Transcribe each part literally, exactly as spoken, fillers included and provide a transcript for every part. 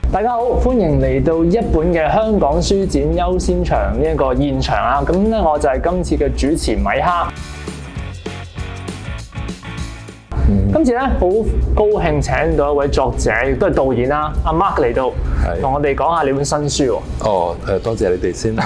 大家好，歡迎嚟到一本嘅香港書展優先場呢一個現場啊！咁咧我就係今次嘅主持米哈。嗯、今次咧好高興請到一位作者，亦都係導演啦，阿 Mark 嚟到，同我哋講下你本新書喎。 哦，誒多謝你哋先啦。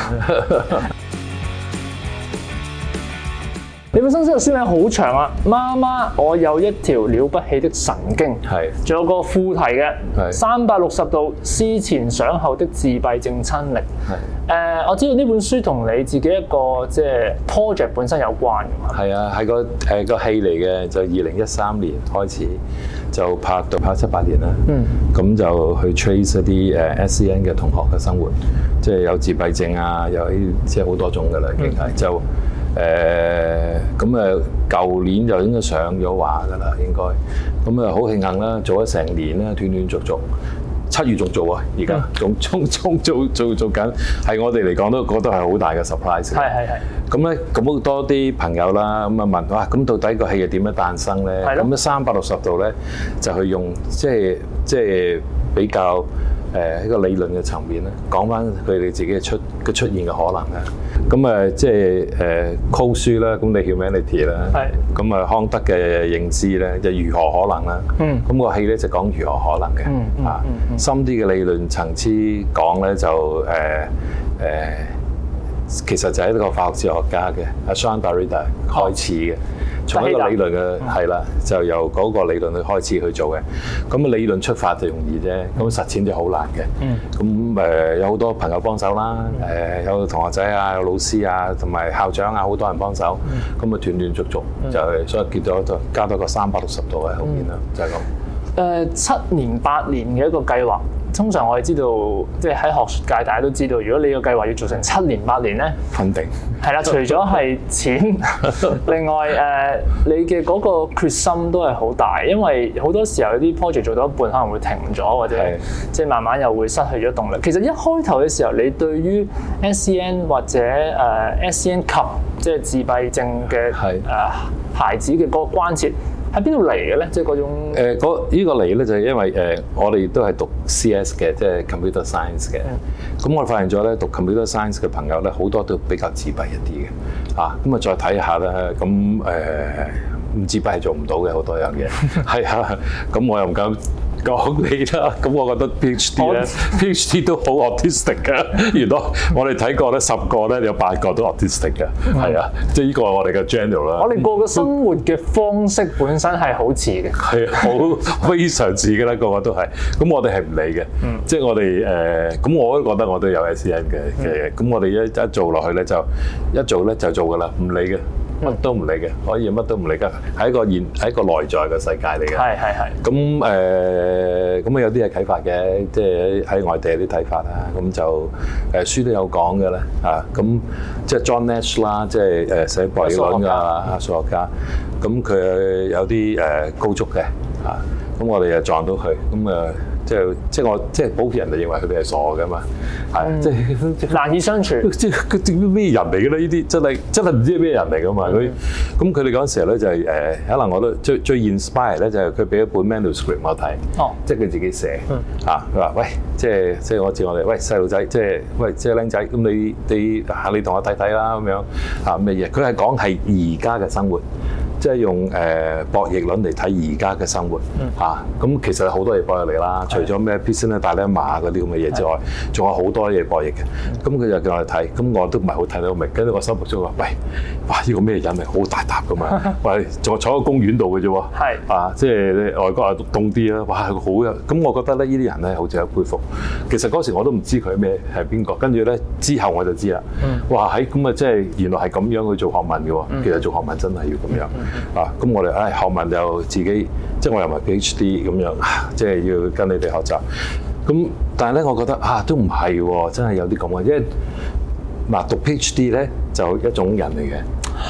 你本新書嘅書名好長啊！媽媽，我有一條了不起的神經，係，仲有個副題嘅，係三百六十度思前想後的自閉症親歷。係，誒、呃，我知道呢本書同你自己一個即係 project 本身有關嘅嘛。係啊，係個誒個戲嚟嘅，就二零一三年開始就拍到拍七八年啦。嗯，咁就去 trace 一啲誒 S E N 嘅同學嘅生活，即係有自閉症啊，有啲即係好多種㗎啦，已經係就。誒咁誒，舊年就應該上咗畫㗎啦，應該咁啊，好慶幸啦，做咗成年啦，斷斷續續，七月仲做啊，而家仲仲仲做做做緊，係我哋嚟講都覺得係好大嘅 surprise。係係係。咁咧，咁好多啲朋友啦，咁啊問哇，咁到底個戲係點樣誕生咧？咁咧三百六十度咧，就去用即係即係比較誒一個理論嘅層面咧，講翻佢哋自己嘅出嘅出現嘅可能咧。咁誒即係誒 code 書啦，咁你 humanity 啦，咁啊康德嘅認知咧，就如何可能啦。嗯。咁個戲咧就講如何可能嘅。嗯嗯。啊，深啲嘅理論層次講咧就誒誒。呃呃其實就係一個化學哲學家嘅阿 Jean Derrida 開始嘅，從一個理論嘅係啦，就由嗰個理論去開始去做嘅。咁啊理論出發就容易啫，咁實踐就好難嘅。咁誒有好多朋友幫手啦，誒有同學仔啊，有老師啊，同埋校長啊，好多人幫手。咁啊斷斷續續就係所以結咗加多個三百六十度喺後面啦，就係咁。誒七年八年嘅一個計劃。通常我哋知道，即係喺學術界，大家都知道，如果你個計劃要做成七年八年咧，肯定係啦。除咗係錢，另外誒、呃，你嘅嗰個決心都係好大，因為好多時候有啲 project 做到一半可能會停咗，或者即係慢慢又會失去咗動力。其實一開頭嘅時候，你對於 S E N 或者誒 S E N 及即係自閉症嘅誒孩子嘅嗰個關切，喺邊度嚟嘅咧？即係嗰種誒，嗰、呃、呢個嚟咧就係因為誒、呃，我哋都係讀 C S 嘅，即係 computer science 嘅。咁、嗯、我發現咗咧，讀 computer science 嘅朋友咧，好多都比較自閉一啲嘅。啊，咁啊再睇下咧，咁誒唔自閉係做唔到嘅好多樣嘢。係啊，咁我又唔敢講你啦，咁我覺得 PhD 咧，PhD 都好 autistic 嘅。原來我哋睇過咧，十個咧有八個都 autistic 嘅，係啊，即係呢個係我哋嘅 general 啦。我哋個個生活嘅方式本身係好似嘅，係好非常似嘅啦，個個都係。咁我哋係唔理嘅，即係我哋誒，咁我都覺得我都有 S E N 嘅嘅，咁我哋一一做落去咧，就一做咧就做㗎啦，唔理嘅。乜都唔理嘅，可以乜都唔理㗎，係一個現係一個內在嘅世界嚟嘅。係係係。咁誒，咁啊有啲係啟發嘅，即係喺外地有啲睇法啦。咁就誒書都有講嘅咧，啊，咁即係 John Nash 啦，即係誒寫博弈論㗎數學家。咁佢有啲誒高足嘅，啊，咁我哋又撞到佢，咁誒。即係即係我即係普遍人哋認為佢哋係傻㗎嘛，係、嗯、即係難以相處。即係佢咩人嚟嘅咧？呢啲真係真係唔知係咩人嚟㗎嘛？佢咁佢哋嗰陣時候咧就係、是、誒、呃，可能我都最最 inspire 咧就係佢俾一本 manuscript 我睇，哦，即係佢自己寫，嗯、啊，佢話喂，即係即係我知我哋喂細路仔，即係喂即係僆仔，咁你你嚇你同我睇睇啦咁樣嚇咩嘢？佢係講係而家嘅生活。即係用誒、呃、博弈論嚟睇而家嘅生活嚇，咁、嗯啊、其實好多嘢博弈嚟啦，除咗咩 Pearson 大咧馬嗰啲咁嘅嘢之外，仲有好多嘢博弈嘅。咁、嗯、佢就叫我哋睇，咁我都唔係好睇得明。跟住我心目中話：喂，哇！呢、呢個咩人嚟？好大沓噶嘛！喂，仲坐喺公園度嘅啫喎。係啊，即係外國啊凍啲啦。哇，好啊！咁我覺得咧，呢啲人咧好值得佩服。其實嗰時我都唔知佢咩係邊個，跟住咧之後我就知啦。嗯、哇！喺咁啊，即係原來係咁樣去做學問嘅喎。嗯、其實做學問真係要咁樣。嗯嗯、啊，咁我哋唉學問又自己，即係我又唔係 PhD 咁樣，即係要跟你哋學習。咁但係咧，我覺得啊，都唔係喎，真係有啲咁嘅，因為嗱讀 PhD 咧就一種人嚟嘅，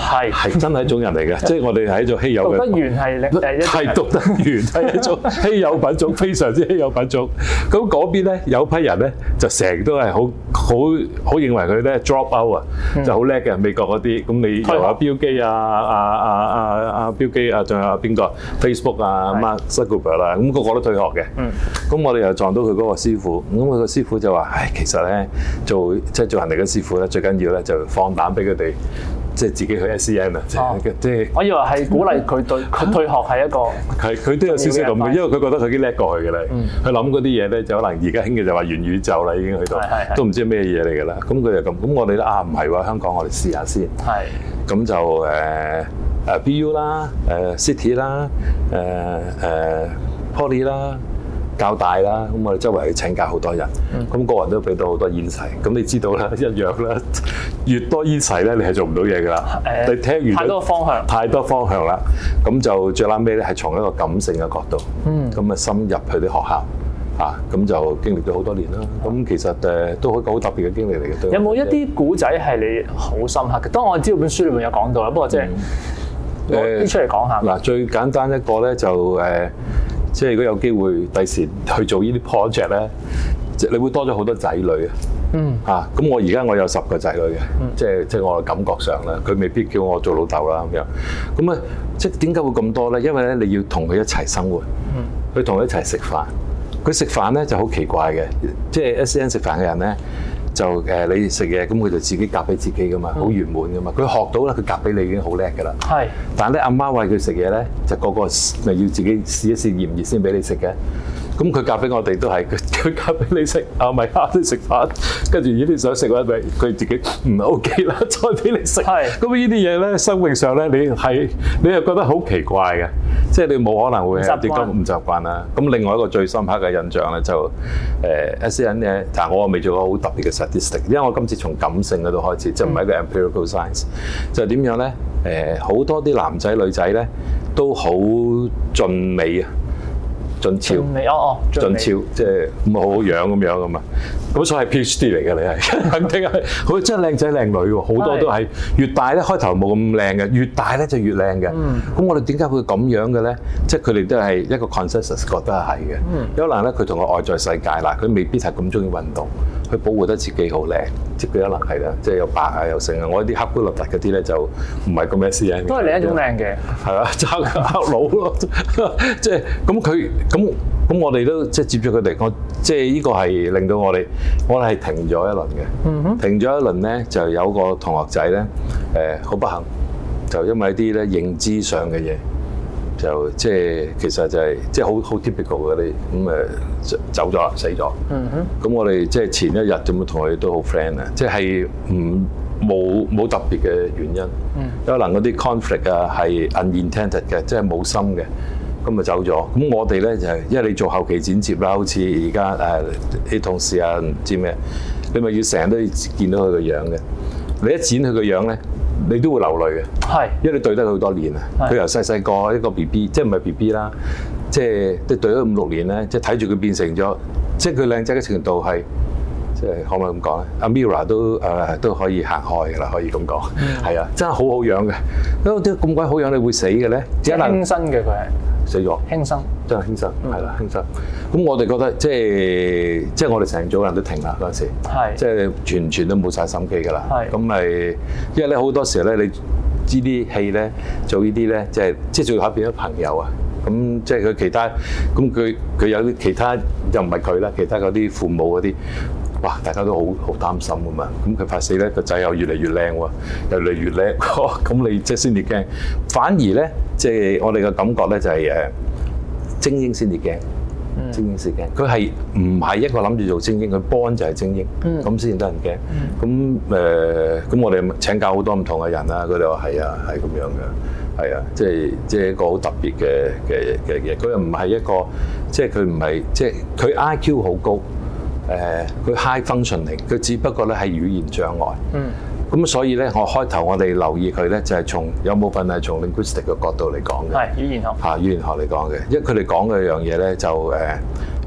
係係真係一種人嚟嘅，即係我哋係一種稀有嘅。 讀得完係誒一係讀得完係一種稀有品種，非常之稀有品種。咁嗰邊咧有批人咧就成日都係好好好認為佢咧 drop out 啊，就好叻嘅美國嗰啲。咁你由阿標基啊、阿阿阿阿標基啊，仲有邊個 Facebook 啊、Mark Zuckerberg 啦，咁個個都退學嘅。咁我哋又撞到佢嗰個師傅，咁佢個師傅就話：唉，其實咧做即係做人哋嘅師傅咧，最緊要咧就放膽俾佢哋。即係自己去 S E N 啊！即係即係，我以為係鼓勵佢對佢退學係一個係佢都有少少咁嘅，因為佢覺得佢已經叻過去嘅啦。佢諗嗰啲嘢咧，就可能而家興嘅就話元宇宙啦，已經去到都唔知咩嘢嚟㗎啦。咁佢就咁，咁我哋咧啊唔係喎，香港我哋試下先。係咁就誒誒 B U 啦，誒 City 啦，誒誒 Poly 啦。教大啦，咁我哋周圍去請教好多人，咁、嗯、個人都俾到好多煙齊，咁你知道啦，一樣啦，越多煙齊咧，你係做唔到嘢㗎啦。誒，你聽完太多方向， 太多方向啦，咁就最撚尾咧係從一個感性嘅角度，咁啊深入去啲學校，啊，咁就經歷咗好多年啦。咁、嗯、其實誒都係一個好特別嘅經歷嚟嘅。有冇一啲古仔係你好深刻嘅？當我知道本書裏面有講到啦，不過即係攞啲出嚟講下。嗱、呃，最簡單一個咧就誒。呃即係如果有機會第時去做呢啲 project 咧，即係你會多咗好多仔女啊！嗯，嚇咁我而家我有十個仔女嘅，嗯、即係即係我嘅感覺上咧，佢未必叫我做老豆啦咁樣。咁啊，即係點解會咁多咧？因為咧你要同佢一齊生活，嗯，去同佢一齊食飯。佢食飯咧就好奇怪嘅，即係 S E N 食飯嘅人咧。就誒你食嘢，咁佢就自己夾俾自己噶嘛，好圓滿噶嘛。佢學到啦，佢夾俾你已經好叻噶啦。係。但係咧，阿媽餵佢食嘢咧，就個個咪要自己試一試熱唔熱先俾你食嘅。咁佢夾俾我哋都係佢佢夾俾你食，啊咪下都食飯，跟住呢啲想食嗰啲咪佢自己唔 OK 啦，再俾你食。係。咁呢啲嘢咧，生命上咧，你係你又覺得好奇怪嘅，即係你冇可能會係點解唔習慣啦。咁另外一個最深刻嘅印象咧，就誒 S E N 咧，但係我未做過好特別嘅 statistic，因為我今次從感性嗰度開始，即係唔係一個 empirical science，就係點樣咧？誒好多啲男仔女仔咧都好俊美啊！俊俏，哦哦，俊俏，即係咁好樣咁樣噶嘛。咁所以係 PhD 嚟嘅，你係肯定係，佢真係靚仔靚女喎，好多都係越大咧開頭冇咁靚嘅，越大咧就越靚嘅。咁、嗯、我哋點解會咁樣嘅咧？即係佢哋都係一個 consensus 覺得係嘅。嗯、有可能咧佢同個外在世界嗱，佢未必係咁中意運動，佢保護得自己好靚，即係佢可能係啦，即係又白啊又成啊。我啲黑骨立突嗰啲咧就唔係咁 S E N 嘅，都係另一種靚嘅，係啊，爭黑佬咯，即係咁佢。咁咁我哋都即係接觸佢哋，我即係呢個係令到我哋，我哋係停咗一輪嘅。嗯、哼停咗一輪咧，就有個同學仔咧，誒、呃、好不幸，就因為一啲咧認知上嘅嘢，就即係其實就係、是、即係好好 typical 嘅啲咁誒走咗啦，死咗。咁、嗯、哼我哋即係前一日咁同佢都好 friend 啊，即係唔冇冇特別嘅原因，嗯、有可能嗰啲 conflict 啊係 unintended 嘅，即係冇心嘅。咁咪走咗，咁我哋咧就係，因為你做後期剪接啦，好似而家誒啲同事啊，唔知咩，你咪要成日都要見到佢個樣嘅。你一剪佢個樣咧，你都會流淚嘅。係，因為你對得佢好多年啊。佢由細細個一個 B B，即係唔係 B B 啦，即係都對咗五六年咧，即係睇住佢變成咗，即係佢靚仔嘅程度係，即係可唔可以咁講咧？阿 Mira 都誒、呃、都可以行開㗎啦，可以咁講。係啊、嗯，真係好好樣嘅。咁點解咁鬼好樣你會死嘅咧？即係輕生嘅佢係。死咗，輕生真係輕生，係啦、嗯、輕生。咁我哋覺得即係即係我哋成組人都停啦嗰陣時，係即係全全都冇晒心機㗎啦。係咁咪，因為咧好多時候咧，你知啲戲咧做呢啲咧，即係即係最後變咗朋友啊。咁即係佢其他，咁佢佢有啲其他又唔係佢啦，其他嗰啲父母嗰啲。哇！大家都好好擔心㗎嘛，咁佢發死咧個仔又越嚟越靚喎，又越嚟越叻，咁你即係先至驚。反而咧，即係我哋嘅感覺咧就係誒精英先至驚，精英先驚。佢係唔係一個諗住做精英，佢 born 就係精英，咁先至得人驚。咁誒，咁我哋請教好多唔同嘅人啦，佢哋話係啊，係咁樣嘅，係啊，即係即係一個好特別嘅嘅嘅嘢。佢又唔係一個，即係佢唔係即係佢 I Q 好高。誒，佢、呃、high functioning，佢只不過咧係語言障礙。嗯。咁所以咧，我開頭我哋留意佢咧，就係、是、從有部分係從 linguistic 嘅角度嚟講嘅。係語言學。嚇、啊，語言學嚟講嘅，因為佢哋講嘅樣嘢咧，就誒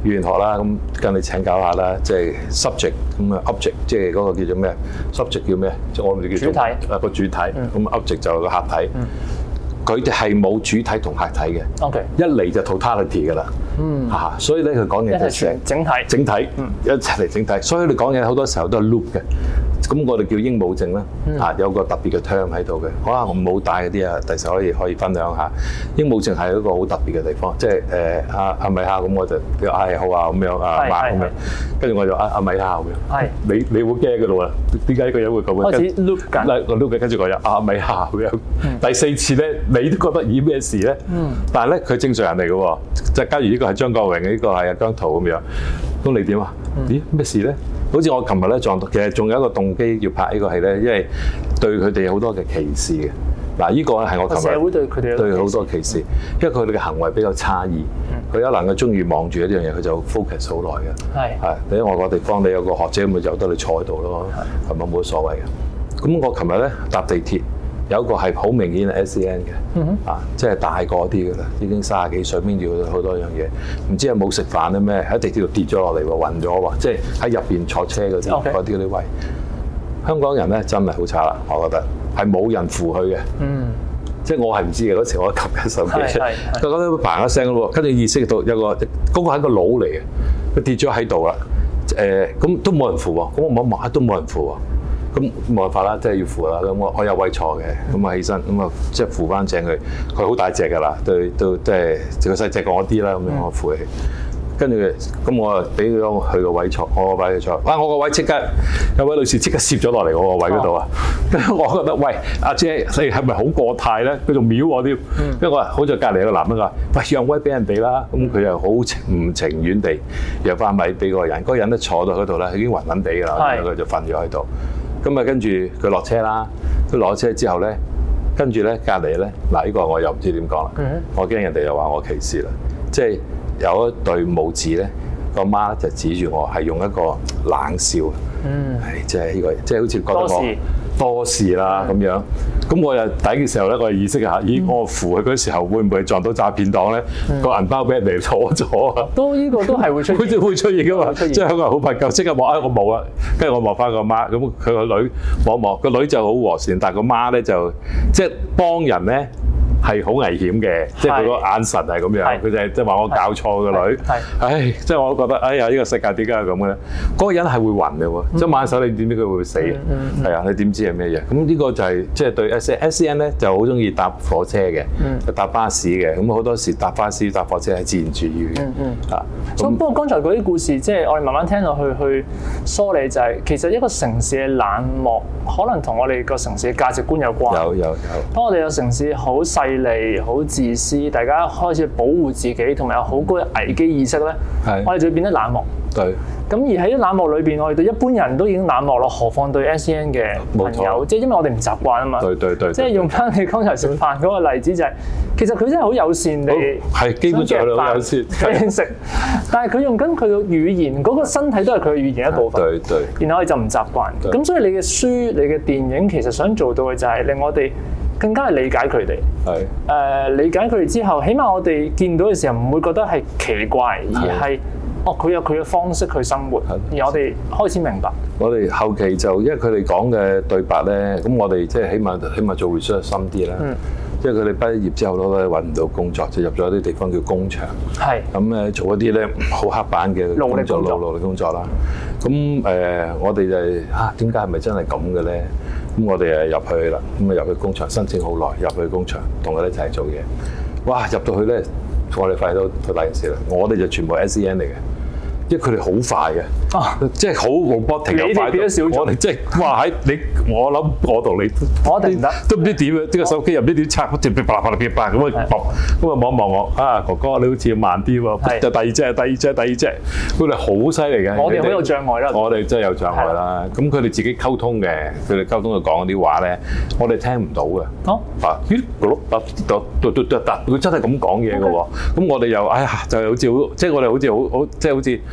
語言學啦，咁跟你請教下啦，即係 subject 咁啊 object， 即係嗰個叫做咩 subject 叫咩？即係我哋叫做主體啊個主體，咁 object 就個客體。佢哋係冇主體同客體嘅。OK， 一嚟就 totality 㗎啦。嗯，嚇，所以咧佢講嘢就成整體，整體，一齊嚟整體。所以你講嘢好多時候都係 loop 嘅。咁我哋叫鸚鵡症啦，啊有個特別嘅 term 喺度嘅，可能我冇帶嗰啲啊，第時可以可以分享下。鸚鵡症係一個好特別嘅地方，即係誒阿阿米哈咁我就叫嗌好啊咁樣啊馬咁樣，跟住我就阿阿米哈咁樣，係你你會驚嘅咯喎？點解呢個人會咁嘅？開始 loop 緊，嗱我 loop 緊，跟住我又阿米哈咁樣。第四次咧，你都覺得咦咩事咧？嗯，但係咧佢正常人嚟嘅喎，即係假如呢個係張國榮，呢個係阿姜濤咁樣，咁你點啊？咦咩事咧？好似我琴日咧撞到，其實仲有一個動機要拍呢個戲咧，因為對佢哋好多嘅歧視嘅。嗱，呢個係我琴日社會對佢哋對好多歧視，因為佢哋嘅行為比較差異。佢一能夠中意望住一樣嘢，佢就 focus 好耐嘅。係係，你喺外國地方，你有個學者咁咪由得你坐喺度咯，係咪冇乜所謂嘅？咁我琴日咧搭地鐵。有一個係好明顯係 S E N 嘅，嗯、啊，即係大個啲嘅啦，已經三十幾歲，邊住好多樣嘢，唔知係冇食飯咧咩，喺地鐵度跌咗落嚟喎，暈咗喎，即係喺入邊坐車嗰啲嗰啲嗰啲位。香港人咧真係好差啦，我覺得係冇人扶佢嘅，嗯，即係我係唔知嘅嗰時我撳緊手機，佢覺得嘭一聲咯喎，跟住意識到有個嗰、嗰個係個佬嚟嘅，佢跌咗喺度啦，誒、呃，咁都冇人扶喎，咁我望一望都冇人扶喎。咁冇辦法啦，即係要扶啦。咁我我有位坐嘅，咁啊起身，咁啊即係扶翻正佢。佢好大隻㗎啦，對都即係個細隻過我啲啦，咁樣我扶起。跟住咁我啊俾咗佢個位坐，我個位坐。哇！我個位即刻有位女士即刻攝咗落嚟我個位嗰度啊。跟住我覺得喂，阿姐你係咪好過態咧？佢仲秒我添。跟住我話好在隔離有個男人話：喂，讓位俾人哋啦。咁佢又好情唔情願地讓翻位俾嗰個人。嗰個人咧坐到嗰度咧，已經暈暈地㗎啦，佢就瞓咗喺度。咁啊，跟住佢落車啦。佢落車之後咧，跟住咧隔離咧，嗱呢個我又唔知點講啦。Mm-hmm. 我驚人哋又話我歧視啦。即係有一對母子咧，個媽就指住我，係用一個冷笑。嗯，係即係呢個，即係好似覺得我多事啦咁樣。咁我又第一嘅時候咧，我意識下，咦，我扶佢嗰時候會唔會撞到詐騙黨咧？個銀包俾人哋攞咗啊！都呢個都係會出現，好似會出現噶嘛。即係香港人好怕夠，即刻望啊！我冇啊，跟住我望翻個媽，咁佢個女望望，個女就好和善，但係個媽咧就即係幫人咧。係好危險嘅，即係佢個眼神係咁樣，佢就係即係話我教錯個女，唉，即係我都覺得，哎呀，呢個世界點解係咁嘅咧？嗰個人係會暈嘅喎，即係挽手你點知佢會死？係啊，你點知係咩嘢？咁呢個就係即係對 S E N 咧就好中意搭火車嘅，搭巴士嘅，咁好多時搭巴士搭火車係自然主義嘅，啊。 咁不過剛才嗰啲故事，即係我哋慢慢聽落去去梳理，就係其實一個城市嘅冷漠，可能同我哋個城市嘅價值觀有關。有有有。當我哋個城市好細利、好自私，大家開始保護自己，同埋有好高嘅危機意識咧，我哋就會變得冷漠。對。咁而喺冷漠裏邊，我哋對一般人都已經冷漠咯，何況對 S E N 嘅朋友？即係因為我哋唔習慣啊嘛。對對對。即係用翻你剛才食飯嗰個例子，就係其實佢真係好友善地，係基本上好友善俾你食。但係佢用緊佢嘅語言，嗰個身體都係佢嘅語言一部分。對對。然後我哋就唔習慣。咁所以你嘅書、你嘅電影，其實想做到嘅就係令我哋更加係理解佢哋。係。誒，理解佢哋之後，起碼我哋見到嘅時候唔會覺得係奇怪，而係。哦，佢有佢嘅方式去生活，而我哋開始明白。 我哋後期就因為佢哋講嘅對白咧，咁我哋即係起碼起碼做 research 深啲啦。嗯。因為佢哋畢業之後都揾唔到工作，就入咗啲地方叫工場。係。咁咧做一啲咧好刻板嘅工作，勞勞力工作啦。咁誒、呃，我哋就係啊，點解係咪真係咁嘅咧？咁我哋誒入去啦，咁啊入去工場申請好耐，入去工場同佢哋一齊做嘢。哇！入到去咧，我哋發現到好大件事啦。我哋就全部 S E N 嚟嘅。因為佢哋好快嘅，啊、即係好冇波停又快。我哋即係哇喺你，我諗我同你，我哋唔得，都唔知點啊！呢個手機又唔知點拆，直接啪啪啪啪啪咁啊！咁啊望一望我啊，哥哥你好似慢啲喎，就第二隻、第二隻、第二隻，佢哋好犀利嘅。我哋好有障礙啦。我哋真係有障礙啦。咁佢哋自己溝通嘅，佢哋溝通就講嗰啲話咧，我哋聽唔到嘅。哦。啊咦？嗰碌佢真係咁講嘢嘅喎。咁我哋又哎呀，就好似好，即係我哋好似好好，即係好似。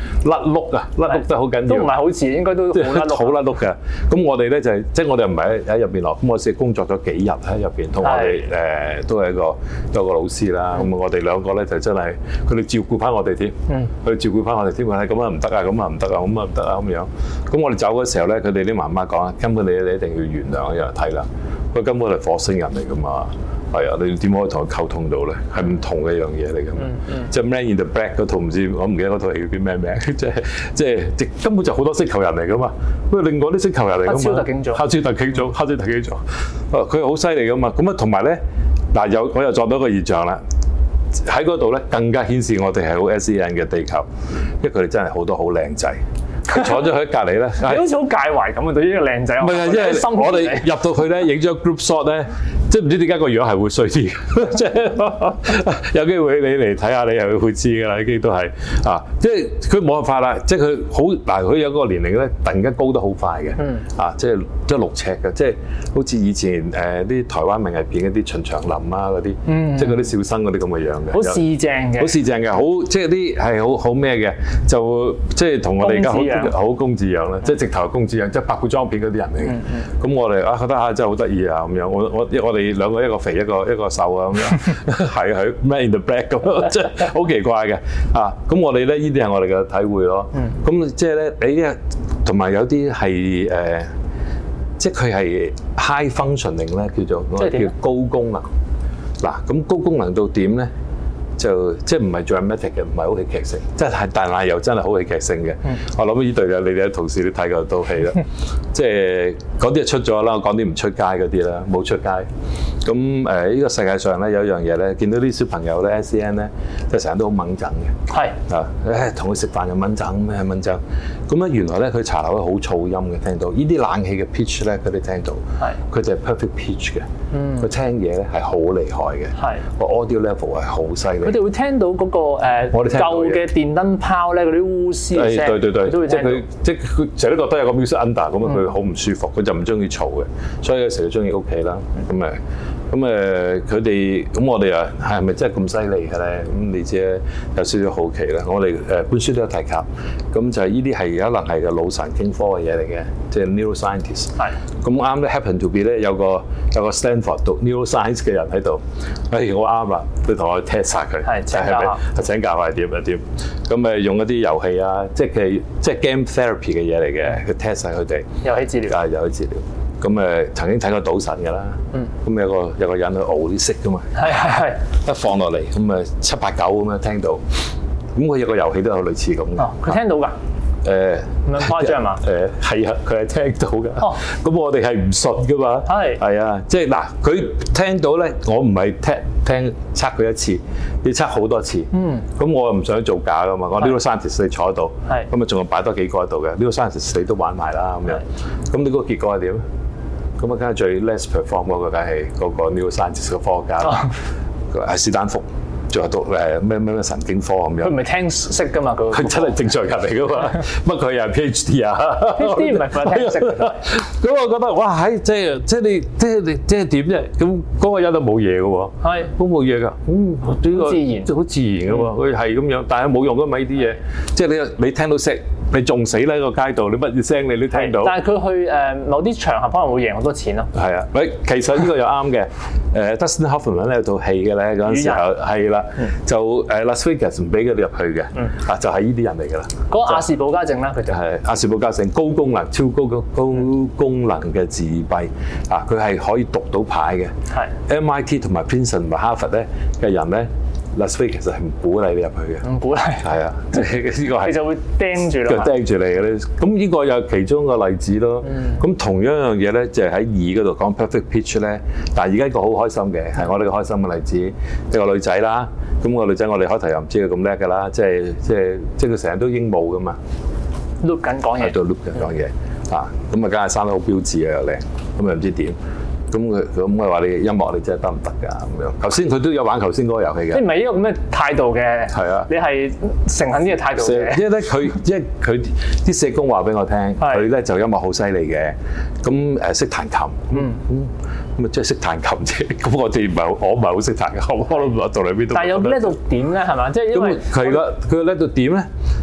甩碌啊，甩碌得好緊要。 都唔係好似，應該都好甩碌。 好甩碌嘅。咁我哋咧就係即係我哋唔係喺入邊落，咁我先工作咗幾日喺入邊，同我哋誒都係一個有個老師啦。咁我哋兩個咧就真係佢哋照顧翻我哋添，佢哋照顧翻我哋添。話咁啊唔得啊，咁啊唔得啊，咁啊唔得啊咁樣。咁我哋走嘅時候咧，佢哋啲媽媽講啊，根本你你一定要原諒一樣睇啦。佢根本係火星人嚟噶嘛。係啊，你點可以同佢溝通到咧？係唔同嘅一樣嘢嚟㗎嘛。即係《Man in the Black》嗰套唔知我唔記得嗰套戲叫咩名，即係即係即根本就好多星球人嚟㗎嘛。不過另外啲星球人嚟㗎嘛。黑超特警組。黑超特警組，黑超特警組。哦，佢好犀利㗎嘛。咁啊，同埋咧嗱，有我又撞到一個現象啦。喺嗰度咧，更加顯示我哋係好 S E N 嘅地球，因為佢哋真係好多好靚仔。坐咗喺隔離咧， 你好似好介懷咁啊！對呢個靚仔， 唔係啊，因為我哋入到去咧，影咗 group shot 咧，即係唔知點解個樣係會衰啲，即係有機會你嚟睇下，你又會知㗎啦。已經都係啊，即係佢冇辦法啦，即係佢好嗱，佢有嗰個年齡咧，突然間高得好快嘅，嗯、啊，即係即係六尺嘅，即係好似以前誒啲、呃、台灣名藝片嗰啲秦祥林啊嗰啲，嗯、即係嗰啲小生嗰啲咁嘅樣嘅， 好四正嘅， 好四正嘅，好即係啲係好好咩嘅，就即係同我哋而家好。好公子樣啦，即係直頭公子樣，即係拍古裝片嗰啲人嚟嘅。咁、嗯、我哋啊覺得啊真係好得意啊咁樣。我我我哋兩個一個肥一個一個瘦啊咁樣，係係 Man in the Black 咁，即係好奇怪嘅啊。咁我哋咧呢啲係我哋嘅體會咯。咁、嗯、即係咧你咧同埋有啲係誒，即係佢係 high functioning 咧，叫做我哋叫高功能。嗱咁高功能到點咧？就即係唔係 dramatic 嘅，唔係好戲劇性，即係但係又真係好戲劇性嘅。嗯、我諗呢對啊，你哋啲同事都睇過套戲啦。即係講啲就出咗啦，講啲唔出街嗰啲啦，冇出街。咁誒呢個世界上咧有一樣嘢咧，見到啲小朋友咧 S E N 咧，即係成日都好掹憎嘅。係是啊，誒同佢食飯又掹憎咩掹憎。咁咧原來咧佢茶樓咧好噪音嘅，聽到呢啲冷氣嘅 pitch 咧佢哋聽到。係是。佢就係 perfect pitch 嘅。嗯。佢聽嘢咧係好厲害嘅。係是。個 audio level 係好犀利。佢哋會聽到嗰、那個誒、呃、舊嘅電燈泡咧，嗰啲烏絲嘅聲，對對對，都會聽到。即係佢，即係佢成日都覺得有個 music under 咁啊，佢好唔舒服，佢就唔中意嘈嘅，所以有時佢中意屋企啦。咁誒、嗯，咁誒，佢哋咁我哋啊，係咪真係咁犀利嘅咧？咁你知有少少好奇啦。我哋誒本書都有提及，咁就係呢啲係可能係個腦神經科嘅嘢嚟嘅，即係 neuroscientist。係。咁啱咧 happen to be 咧有個有個 Stanford 讀 neuroscience 嘅人喺度，誒我啱啦，你同我 test 曬佢。係請教下，請教下係點啊點？咁誒用一啲遊戲啊，即係即係 game therapy 嘅嘢嚟嘅，佢 test 曬佢哋。遊戲治療啊，遊戲治療。咁誒曾經睇過賭神㗎啦，咁有個有個人去熬啲色㗎嘛，係係係，一放落嚟咁誒七八九咁樣聽到，咁佢有個遊戲都有類似咁嘅。哦，佢聽到㗎。誒咁樣誇張嘛？誒係啊，佢係聽到㗎。哦，咁我哋係唔信㗎嘛。係係啊，即係嗱，佢聽到咧，我唔係聽聽測佢一次，要測好多次。嗯。咁我又唔想做假㗎嘛，我呢個 scientist 你坐喺度，係咁啊，仲要擺多幾個喺度嘅，呢個 scientist 你都玩埋啦咁樣。咁你嗰個結果係點？咁啊，梗係最 less perform 嗰個梗係嗰個 neuroscientist 嘅科學家啦，係史丹福。仲有讀誒咩咩咩神經科咁樣，佢唔係聽識噶嘛？佢佢真係正常人嚟噶嘛？乜佢又係 PhD 啊 ？PhD 唔係佢聽識㗎。咁我覺得哇，喺即係即係你即係你即係點啫？咁嗰個人都冇嘢嘅喎，係都冇嘢㗎。嗯，呢個自然，即係好自然㗎喎。佢係咁樣，但係冇用㗎嘛呢啲嘢。即係你你聽到識，你仲死喺個街度，你乜嘢聲你都聽到。但係佢去誒某啲場合可能會贏好多錢咯。係啊，喂，其實呢個又啱嘅。誒 Dustin Hoffman 咧有套戲嘅咧嗰陣時候係啦。就誒 Las Vegas 唔俾佢哋入去嘅，啊就係呢啲人嚟㗎啦。嗰個亞氏保加症啦，佢就係亞氏保加症，高功能、超高高高功能嘅自閉，啊佢係可以讀到牌嘅。係 M I T 同埋 Princeton 同埋哈佛咧嘅人咧 ，Las Vegas 其實係唔鼓勵你入去嘅。唔鼓勵。係啊，即係呢個係。你就會盯住啦。就盯住你嘅咧，咁呢個又其中一個例子咯。咁同樣一樣嘢咧，就係喺二嗰度講 perfect pitch 咧，但係而家一個好開心嘅係我哋個開心嘅例子，一個女仔啦。咁個女仔我哋開頭又唔知佢咁叻㗎啦，即係即係即係佢成日都鸚鵡㗎嘛 ，loop 緊講嘢，喺度 loop 緊講嘢，啊咁啊梗係生得好標緻啊又靚，咁又唔知點，咁佢咁佢話你音樂你真係得唔得㗎咁樣？頭先佢都有玩頭先嗰個遊戲嘅，即係唔係呢個咁嘅態度嘅？係啊，你係誠懇啲嘅態度嘅。因為咧佢因為佢啲社工話俾我聽，佢咧就音樂好犀利嘅，咁誒識彈琴，嗯嗯。咁啊，即係識彈琴啫。咁我哋唔係，我唔係好識彈嘅，我都唔知道到嚟邊度。但係有叻到點咧？係嘛？即係因為佢個佢叻到點咧？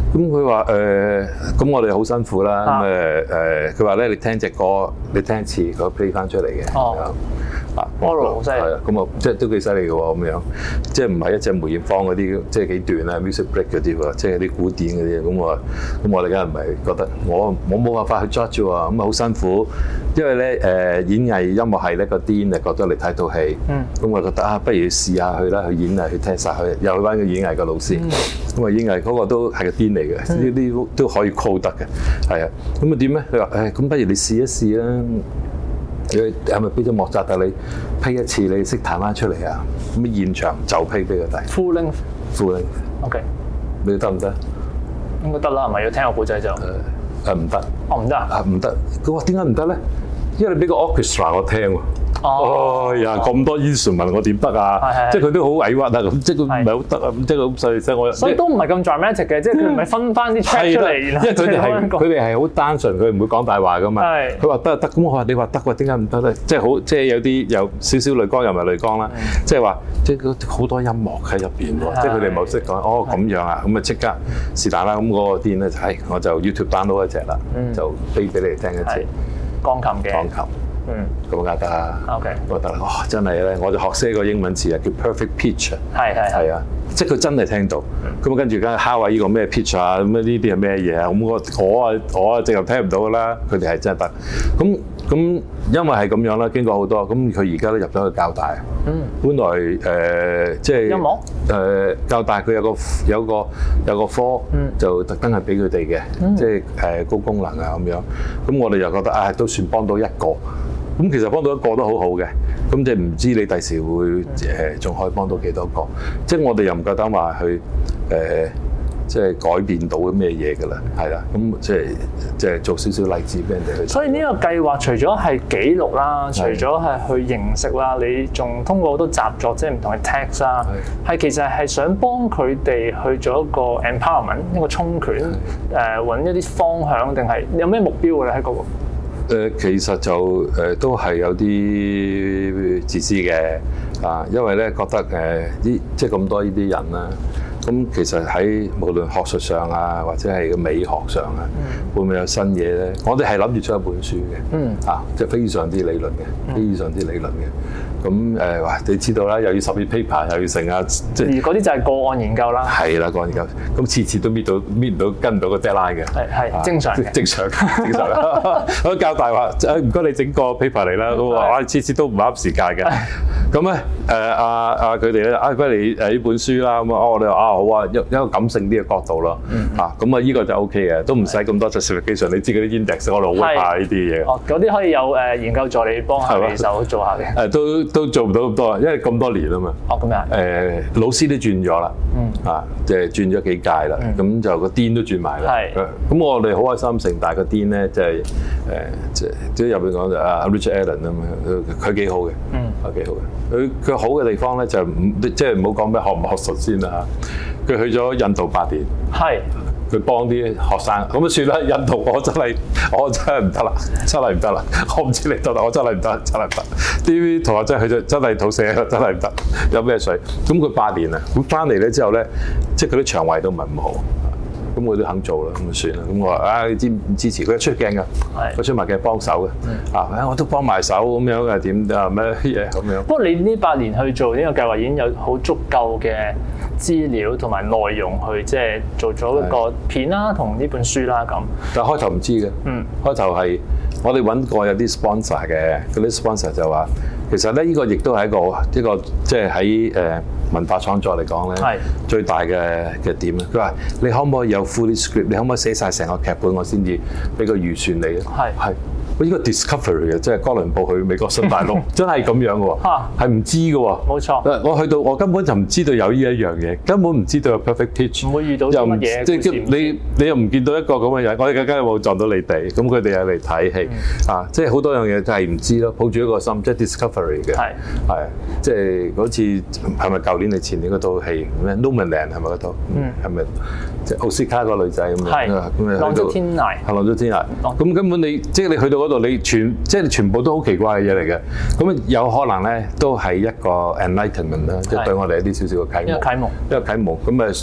咁佢話誒，咁、呃、我哋好辛苦啦。咁誒誒，佢話咧，你聽隻歌，你聽一次，佢 play 翻出嚟嘅。哦。啊 Oral 好犀利。 係啊，咁啊，即係都幾犀利嘅喎，咁樣，即係唔係一隻梅艷芳嗰啲，即係幾段啊 music break 嗰啲喎，即係啲古典嗰啲，咁我，咁我哋梗係唔係覺得我我冇辦法去 judge 喎，咁啊好辛苦，因為咧誒、呃、演藝音樂係咧個癲啊，覺得嚟睇套戲，嗯，咁我覺得啊，不如試下去啦，去演藝去聽晒佢，又去翻個演藝嘅老師，咁啊、嗯、演藝嗰個都係個癲嚟嘅，呢啲、嗯、都可以 call 得嘅，係啊，咁啊點咧？佢話誒，咁不如你試一試啦。你係咪俾咗莫扎特你批一次你識彈翻出嚟啊？咁現場就批俾佢睇。 Full length。Full length。OK。 你得唔得？ 應該得啦，係咪要聽個故仔就？誒誒唔得。哦唔得啊？ 唔得。佢話點解唔得咧？因為你俾個 orchestra 我聽喎。哦呀，咁多 instrument 我點得啊？即係佢都好委屈啊，咁即係佢唔係好得啊，即係咁細細聲我。所以都唔係咁 dramatic 嘅，即係佢唔係分翻啲 track 出嚟，因為佢哋係佢哋係好單純，佢唔會講大話噶嘛。佢話得得，咁我話你話得喎，點解唔得咧？即係好，即係有啲有少少淚光又唔係淚光啦，即係話即係好多音樂喺入邊喎，即係佢哋冇識講哦咁樣啊，咁啊即刻是但啦，咁嗰個店咧就係我就 YouTube download 一隻啦，就飛俾你哋聽一次鋼琴嘅鋼琴。 嗯，咁梗得啦。OK，我覺得哇，真係咧，我就學識一個英文詞啊，叫 perfect pitch 啊。係係係啊，即係佢真係聽到。咁啊，跟住梗係敲下呢個咩 pitch 啊，咁啊呢啲係咩嘢啊？咁我我啊我啊直頭聽唔到噶啦，佢哋係真係得。咁咁因為係咁樣啦，經過好多，咁佢而家都入咗去教大。嗯。本來誒即係音樂誒教大佢有個有個有個科，就特登係俾佢哋嘅，即係誒高功能啊咁樣。咁我哋又覺得啊，都算幫到一個。咁其實幫到一個都好好嘅，咁即係唔知你第時會誒仲可以幫到幾多個？即係我哋又唔夠膽話去誒，即係改變到咩嘢㗎啦，係啦，咁即係即係做少少例子俾人哋去。所以呢個計劃除咗係記錄啦，除咗係去認識啦，你仲通過好多習作，即係唔同嘅 text 啦，係其實係想幫佢哋去做一個 empowerment， 一個充權，誒揾一啲方向，定係有咩目標㗎咧？喺嗰個誒其實就誒都係有啲自私嘅啊，因為咧覺得誒啲即係咁多呢啲人啦，咁其實喺無論學術上啊，或者係個美學上啊，會唔會有新嘢咧？我哋係諗住出一本書嘅，嗯啊，即係非常之理論嘅，非常之理論嘅。咁誒，哇！你知道啦，又要十頁 paper， 又要成啊，即係而嗰啲就係個案研究啦。係啦，個案研究，咁次次都搣到搣唔到，跟唔到個 deadline 嘅。係係正常嘅，正常正常啦。我教大話，誒唔該你整個 paper 嚟啦。咁話哇，次次都唔啱時間嘅。咁咧誒阿阿佢哋咧，啊不如你誒呢本書啦。咁啊，我哋話啊好啊，一一個感性啲嘅角度咯。嚇咁啊，呢個就 OK 嘅，都唔使咁多 justification。你知嗰啲 index 我哋好怕呢啲嘢。哦，嗰啲可以有誒研究助理幫下你手做下嘅。誒都。都做唔到咁多，因為咁多年啊嘛。哦，咁樣。誒、呃，老師都轉咗啦。嗯。啊，即係轉咗幾屆啦。咁、嗯、就個 Dean 都轉埋啦。係。咁我哋好開心，成大個 Dean咧，即係誒，即係即係入邊講就啊 Richard Allen 啊嘛，佢幾好嘅。嗯。係幾好嘅。佢佢好嘅地方咧就唔即係唔好講咩學唔學術先啦嚇。佢去咗印度八年。係。佢幫啲學生，咁啊算啦。印度我真係我真係唔得啦，真係唔得啦。我唔知你得啦，我真係唔得，真係唔得。啲同學真係去咗，真係肚瀉，真係唔得。有咩水？咁佢八年啊，咁翻嚟咧之後咧，即係佢啲腸胃都唔係咁好。咁佢都肯做啦，咁就算啦。咁我話啊，你支唔支持？佢出鏡㗎，佢出埋鏡幫手嘅。啊，我都幫埋手咁樣嘅，點啊咩嘢咁樣？不過你呢八年去做呢個計劃已經有好足夠嘅資料同埋內容去即係做咗一個片啦，同呢本書啦咁。但係開頭唔知嘅，嗯，開頭係我哋揾過有啲 sponsor 嘅，嗰啲 sponsor 就話，其實咧呢個亦都係一個一個即係喺誒文化創作嚟講咧，係最大嘅嘅點咧。佢話你可唔可以有 full script？ 你可唔可以寫晒成個劇本，我先至俾個預算你咧？係係。呢個 discovery 嘅，即係哥倫布去美國新大陸，真係咁樣嘅喎，係唔知嘅喎。冇錯。我去到我根本就唔知道有呢一樣嘢，根本唔知道有 perfect pitch。唔會遇到啲乜嘢。即係你你又唔見到一個咁嘅人，我哋更加冇撞到你哋，咁佢哋又嚟睇戲啊！即係好多樣嘢就係唔知咯，抱住一個心，即係 discovery 嘅。係係，即係嗰次係咪舊年定前年嗰套戲咩 Nomadland 係咪嗰套？嗯，係咪即係奧斯卡個女仔咁樣？係。咁啊，浪跡天涯。係浪跡天涯。咁根本你即係你去到嗰度，你全即係全部都好奇怪嘅嘢嚟嘅。咁有可能咧，都係一個 enlightenment 啦，即係對我哋一啲少少嘅啟蒙。一個啟蒙。一個啟蒙。咁啊，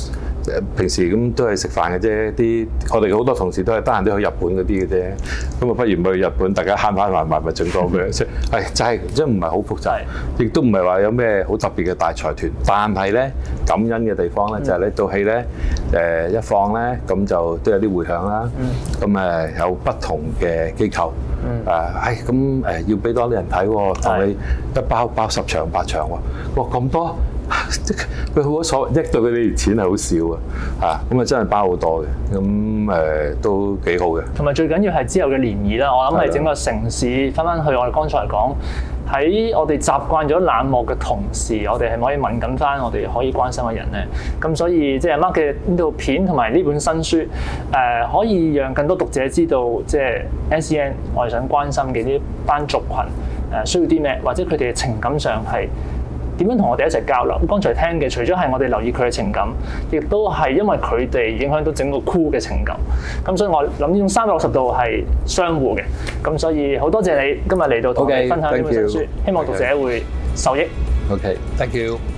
平時咁都係食飯嘅啫，啲我哋好多同事都係得閒都去日本嗰啲嘅啫。咁啊，不如去日本，大家慳慳埋埋咪整多佢。即係就係即係唔係好複雜，亦都唔係話有咩好特別嘅大財團。但係咧感恩嘅地方咧，就係呢套戲咧誒一放咧，咁就都有啲迴響啦。咁誒有不同嘅機構。嗯，誒，係咁誒，要俾多啲人睇喎，同你一包包十場八場喎，哇咁多，佢好所謂，益到佢哋錢係好少啊，嚇，咁啊真係包好多嘅，咁誒都幾好嘅。同埋最緊要係之後嘅漣漪啦，我諗係整個城市翻翻去我哋剛才講，喺我哋習慣咗冷漠嘅同時，我哋係咪可以敏感翻我哋可以關心嘅人咧？咁所以即係 Mark 嘅呢套片同埋呢本新書，誒、呃、可以讓更多讀者知道，即係 S E N 我哋想關心嘅呢班族群誒、呃、需要啲咩，或者佢哋嘅情感上係點樣同我哋一齊交流。剛才聽嘅除咗係我哋留意佢嘅情感，亦都係因為佢哋影響到整個 crew 嘅情感。咁所以我諗呢種三百六十度係相互嘅。咁所以好多謝你今日嚟到同我哋分享呢本新書， okay, 希望讀者會受益。OK，thank you。